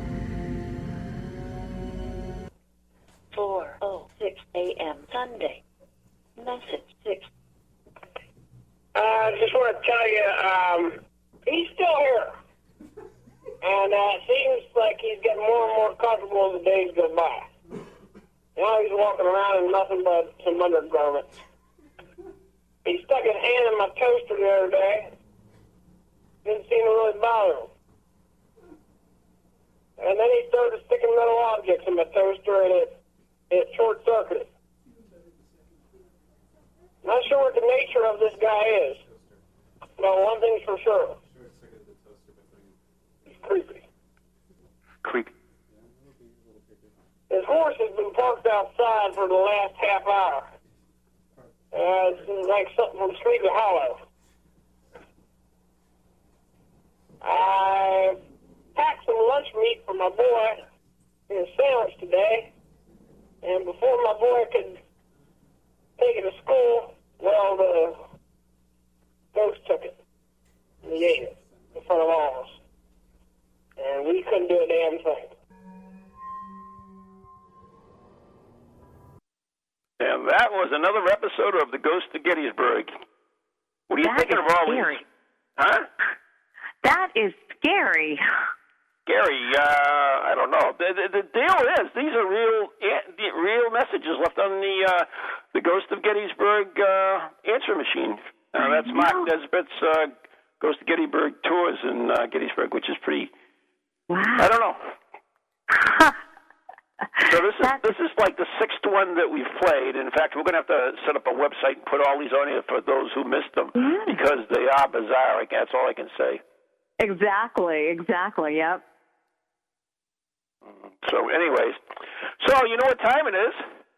S10: 4:06 a.m. Sunday. Message 6.
S11: I just want to tell you, he's still here. And it seems like he's getting more and more comfortable as the days go by. Now he's walking around in nothing but some undergarments. He stuck his hand in my toaster the other day. Didn't seem to really bother him. And then he started sticking metal objects in my toaster, and it short-circuited. Not sure what the nature of this guy is. But one thing's for sure. He's creepy.
S3: Creepy.
S11: His horse has been parked outside for the last half hour. It's like something from Sleepy Hollow. I packed some lunch meat for my boy in a sandwich today, and before my boy could take it to school. Well, the ghost took it and he ate it in front of all of us. And we couldn't do a damn thing.
S3: And that was another episode of The Ghost of Gettysburg. What are you thinking of all
S4: scary.
S3: these? Huh?
S4: That is scary.
S3: Scary. I don't know. The deal is these are real messages left on the Ghost of Gettysburg answer machine. That's Mark Nesbitt's Ghost of Gettysburg tours in Gettysburg, which is pretty.
S4: Wow.
S3: I don't know. So this is like the sixth one that we've played. In fact, we're going to have to set up a website and put all these on here for those who missed them because they are bizarre. That's all I can say.
S4: Exactly. Yep.
S3: So, anyways, you know what time it is?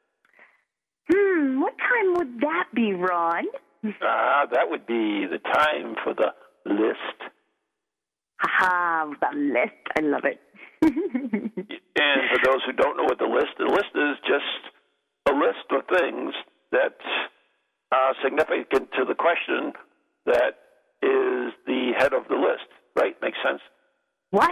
S4: What time would that be, Ron?
S3: That would be the time for the list.
S4: The list. I love it.
S3: And for those who don't know what the list is just a list of things that are significant to the question that is the head of the list, right? Makes sense?
S4: What?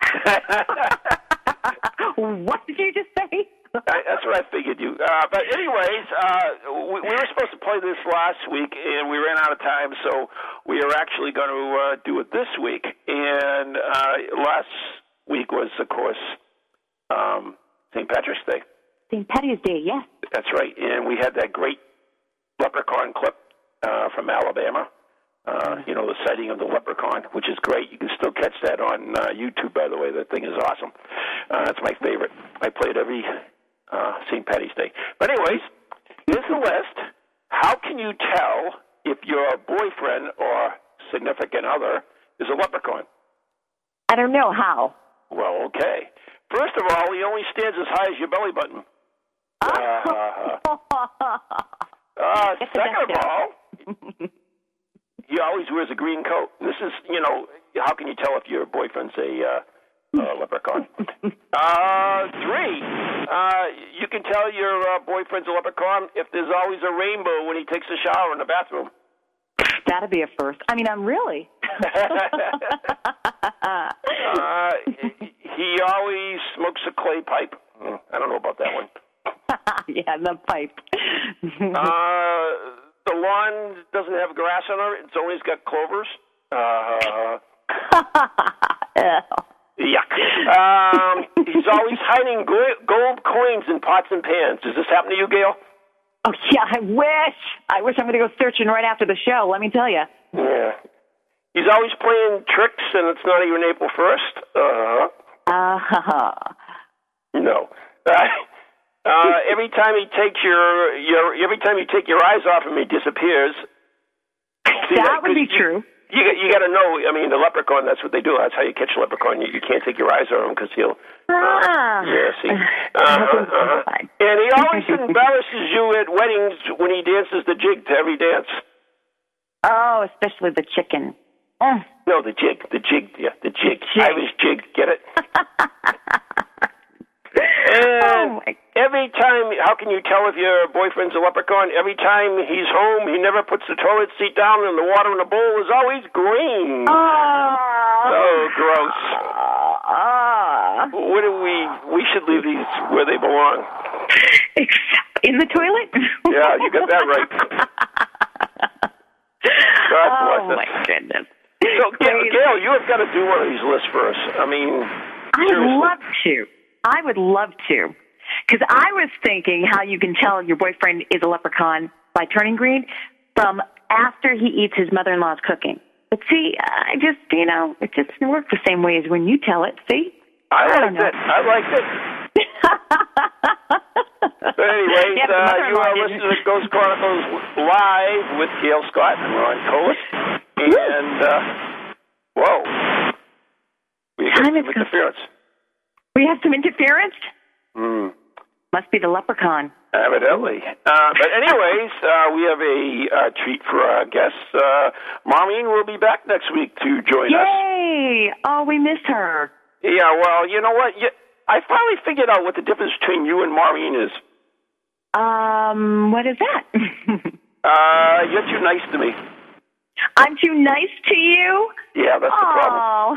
S4: What did you just say?
S3: That's what I figured you. But anyways, we were supposed to play this last week, and we ran out of time, so we are actually going to do it this week. And last week was, of course, St. Patrick's Day.
S4: St. Patty's Day, yes.
S3: That's right. And we had that great leprechaun clip from Alabama. The sighting of the leprechaun, which is great. You can still catch that on YouTube, by the way. That thing is awesome. That's my favorite. I play it every St. Patty's Day. But anyways, here's the list. How can you tell if your boyfriend or significant other is a leprechaun?
S4: I don't know how.
S3: Well, okay. First of all, he only stands as high as your belly button. Second of all, he always wears a green coat. This is, how can you tell if your boyfriend's a leprechaun? 3, you can tell your boyfriend's a leprechaun if there's always a rainbow when he takes a shower in the bathroom.
S4: That'd be a first. I mean, I'm really.
S3: He always smokes a clay pipe. I don't know about that one.
S4: Yeah, the pipe.
S3: The lawn doesn't have grass on it. It's always got clovers. Yuck. He's always hiding gold coins in pots and pans. Does this happen to you, Gail?
S4: Oh, yeah, I wish I'm going to go searching right after the show, let me tell you.
S3: Yeah. He's always playing tricks, and it's not even April 1st. No. Every time you take your eyes off him, he disappears.
S4: That would be true.
S3: You got to know. I mean, the leprechaun. That's what they do. That's how you catch a leprechaun. You can't take your eyes on him because he'll. Yeah. See. And he always embarrasses you at weddings when he dances the jig to every dance.
S4: Oh, especially the chicken.
S3: No, the jig. Yeah, the jig. Irish jig. Get it? And every time, how can you tell if your boyfriend's a leprechaun? Every time he's home, he never puts the toilet seat down, and the water in the bowl is always green. So gross. What do we should leave these where they belong.
S4: In the toilet?
S3: Yeah, you got that right. God bless us.
S4: Oh, my goodness.
S3: So, Gail, you have got to do one of these lists for us. I mean, seriously.
S4: I would love to. Because I was thinking how you can tell your boyfriend is a leprechaun by turning green from after he eats his mother-in-law's cooking. But see, it just doesn't work the same way as when you tell it, see?
S3: I liked it. But anyways, you are listening to Ghost Chronicles Live with Gail Scott and Ron Colas. And, we got some interference.
S4: We have some interference? Must be the leprechaun.
S3: Evidently. But anyways, we have a treat for our guests. Maureen will be back next week to join us.
S4: Yay! Oh, we miss her.
S3: Yeah, well, you know what? I finally figured out what the difference between you and Maureen is.
S4: What is that?
S3: You're too nice to me.
S4: I'm too nice to you?
S3: Yeah, that's the problem.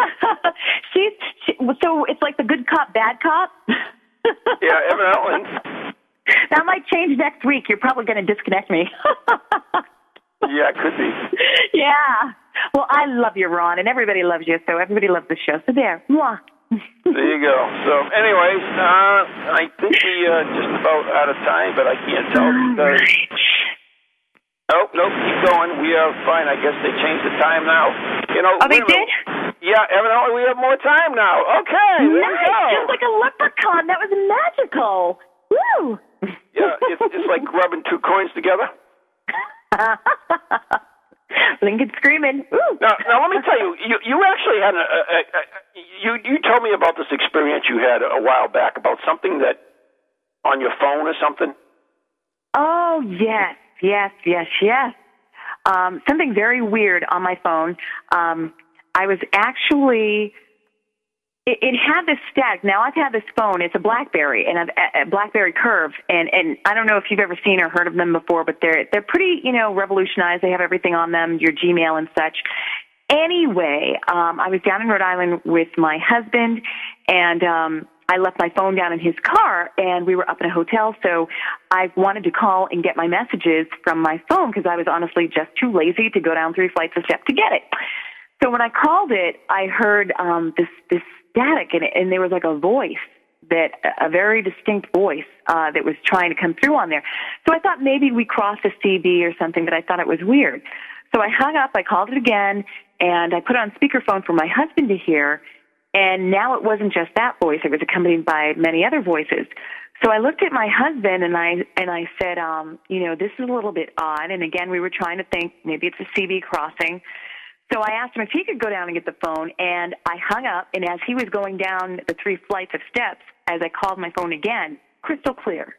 S4: So it's like the good cop, bad cop?
S3: Yeah, evidently.
S4: That might change next week. You're probably going to disconnect me.
S3: Yeah, it could be.
S4: Yeah. Well, I love you, Ron, and everybody loves you, so everybody loves the show. So there. Mwah.
S3: There you go. So, anyways, I think we just about out of time, but I can't tell. Nope, keep going. We are fine. I guess they changed the time now.
S4: Oh, they did?
S3: Yeah, evidently we have more time now. Okay, there we go.
S4: Just like a leprechaun. That was magical. Woo!
S3: Yeah, it's like rubbing two coins together.
S4: Lincoln screaming. Ooh.
S3: Now let me tell you, you actually had you told me about this experience you had a while back about something that on your phone or something.
S4: Oh, yes. Something very weird on my phone. I was actually, it had this static. Now I've had this phone. It's a BlackBerry, and a BlackBerry Curve, and I don't know if you've ever seen or heard of them before, but they're pretty, revolutionized. They have everything on them, your Gmail and such. Anyway, I was down in Rhode Island with my husband, and I left my phone down in his car, and we were up in a hotel, so I wanted to call and get my messages from my phone because I was honestly just too lazy to go down 3 flights of steps to get it. So when I called it, I heard this static, and there was like a voice, a very distinct voice that was trying to come through on there. So I thought maybe we crossed a CB or something, but I thought it was weird. So I hung up, I called it again, and I put it on speakerphone for my husband to hear. And now it wasn't just that voice; it was accompanied by many other voices. So I looked at my husband and I said, this is a little bit odd. And again, we were trying to think maybe it's a CB crossing. So I asked him if he could go down and get the phone, and I hung up. And as he was going down the 3 flights of steps, as I called my phone again, crystal clear.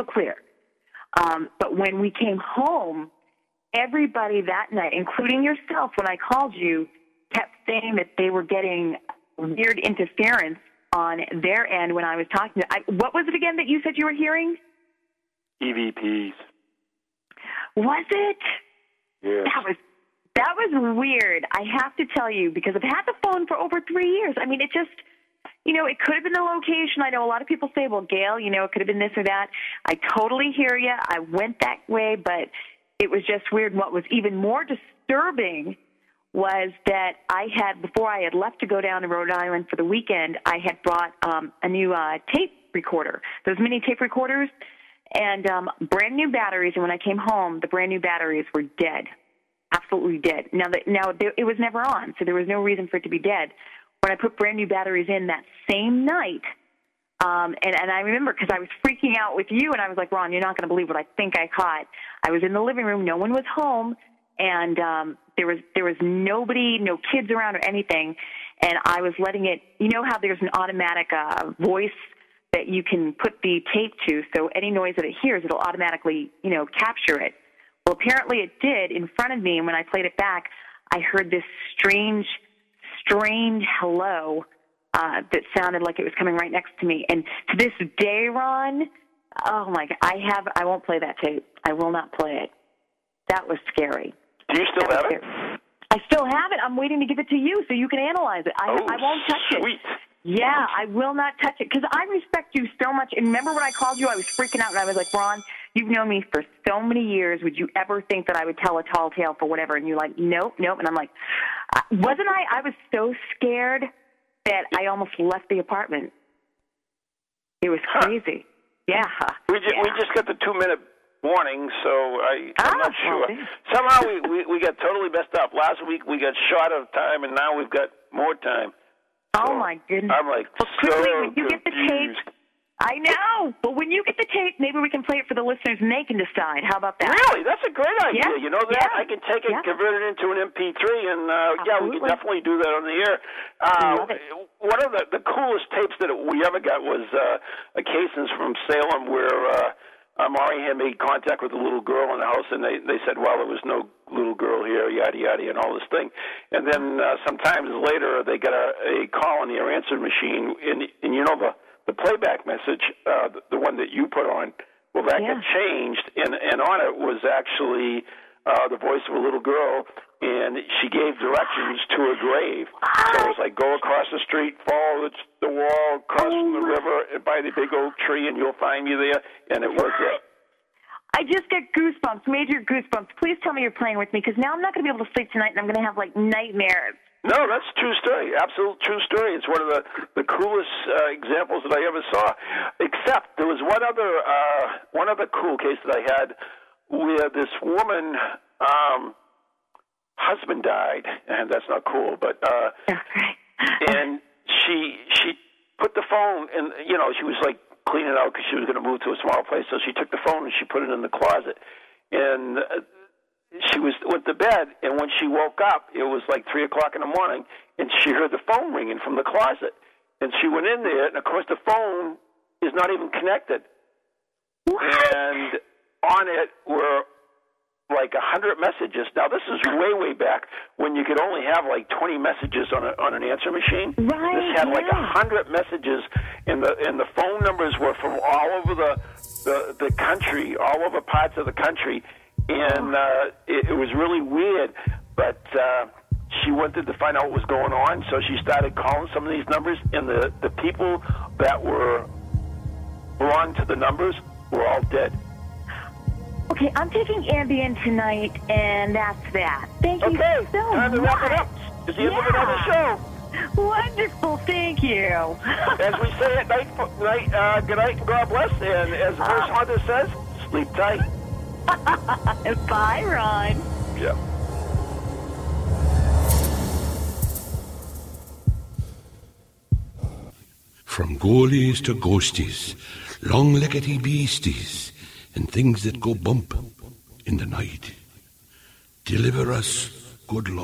S4: But when we came home, everybody that night, including yourself, when I called you, kept saying that they were getting weird interference on their end when I was talking to what was it again that you said you were hearing?
S3: EVPs.
S4: Was it?
S3: Yes.
S4: That was weird, I have to tell you, because I've had the phone for over 3 years. I mean, it just, it could have been the location. I know a lot of people say, well, Gail, it could have been this or that. I totally hear you. I went that way, but it was just weird. And what was even more disturbing was that before I had left to go down to Rhode Island for the weekend, I had brought a new tape recorder, those mini tape recorders, and brand new batteries. And when I came home, the brand new batteries were dead, absolutely dead. Now it was never on, so there was no reason for it to be dead. When I put brand new batteries in that same night, and I remember because I was freaking out with you, and I was like, Ron, you're not going to believe what I think I caught. I was in the living room, no one was home, and there was nobody, no kids around or anything, and I was letting it, how there's an automatic voice that you can put the tape to, so any noise that it hears, it'll automatically, capture it. Well, apparently it did in front of me, and when I played it back, I heard this strange hello that sounded like it was coming right next to me. And to this day, Ron, oh my God, I won't play that tape. I will not play it. That was scary.
S3: Do you still have it?
S4: I still have it. I'm waiting to give it to you so you can analyze it. I won't touch
S3: sweet.
S4: it. Yeah, I will not touch it because I respect you so much. And remember when I called you, I was freaking out and I was like, Ron, you've known me for so many years. Would you ever think that I would tell a tall tale for whatever? And you're like, nope. And I'm like, wasn't I? I was so scared that I almost left the apartment. It was crazy. Yeah.
S3: We just got the 2-minute warning, so I'm not sure. Somehow we got totally messed up. Last week we got short of time, and now we've got more time.
S4: Oh, my goodness.
S3: I'm like,
S4: well, quickly, when you get the tape, I know, but when you get the tape, maybe we can play it for the listeners and they can decide. How about that?
S3: Really? That's a great idea.
S4: Yeah.
S3: You know that? Yeah. I can take it, convert it into an MP3, and we can definitely do that on the air. One of the coolest tapes that we ever got was a Casons from Salem where Maury had made contact with a little girl in the house, and they said, well, there was no little girl here, yada, yada, and all this thing. And then sometimes later they got a call on their answering machine, and the playback message, the one that you put on, Well, that got changed, and on it was actually the voice of a little girl, and she gave directions to a grave. So it was like, go across the street, follow the wall, cross from the river, and by the big oak tree, and you'll find me there. And it was it.
S4: I just get goosebumps, major goosebumps. Please tell me you're playing with me, because now I'm not going to be able to sleep tonight, and I'm going to have, like, nightmares.
S3: No, that's a true story. Absolute true story. It's one of the coolest examples that I ever saw. Except there was one other cool case that I had where this woman husband died, and that's not cool, but and she put the phone in. You know, she was like cleaning out because she was going to move to a small place, so she took the phone and she put it in the closet, and she went to bed, and when she woke up, it was like 3 o'clock in the morning, and she heard the phone ringing from the closet. And she went in there, and of course the phone is not even connected. What? And on it were like 100 messages. Now this is way back when you could only have like 20 messages on an answer machine.
S4: Right.
S3: This had like 100 messages, and the phone numbers were from all over the country, all over parts of the country. And it was really weird, but she wanted to find out what was going on, so she started calling some of these numbers, and the people that were belonged to the numbers were all dead.
S4: Okay, I'm taking Ambien tonight, and that's that. Thank you so much.
S3: Time to wrap it up. It's the end of another show.
S4: Wonderful, thank you.
S3: As we say at night, good night and God bless, and as Verse Hunter says, sleep tight.
S4: Bye, Ron.
S3: Yeah.
S12: From goalies to ghosties, long-leggedy beasties, and things that go bump in the night. Deliver us, good Lord.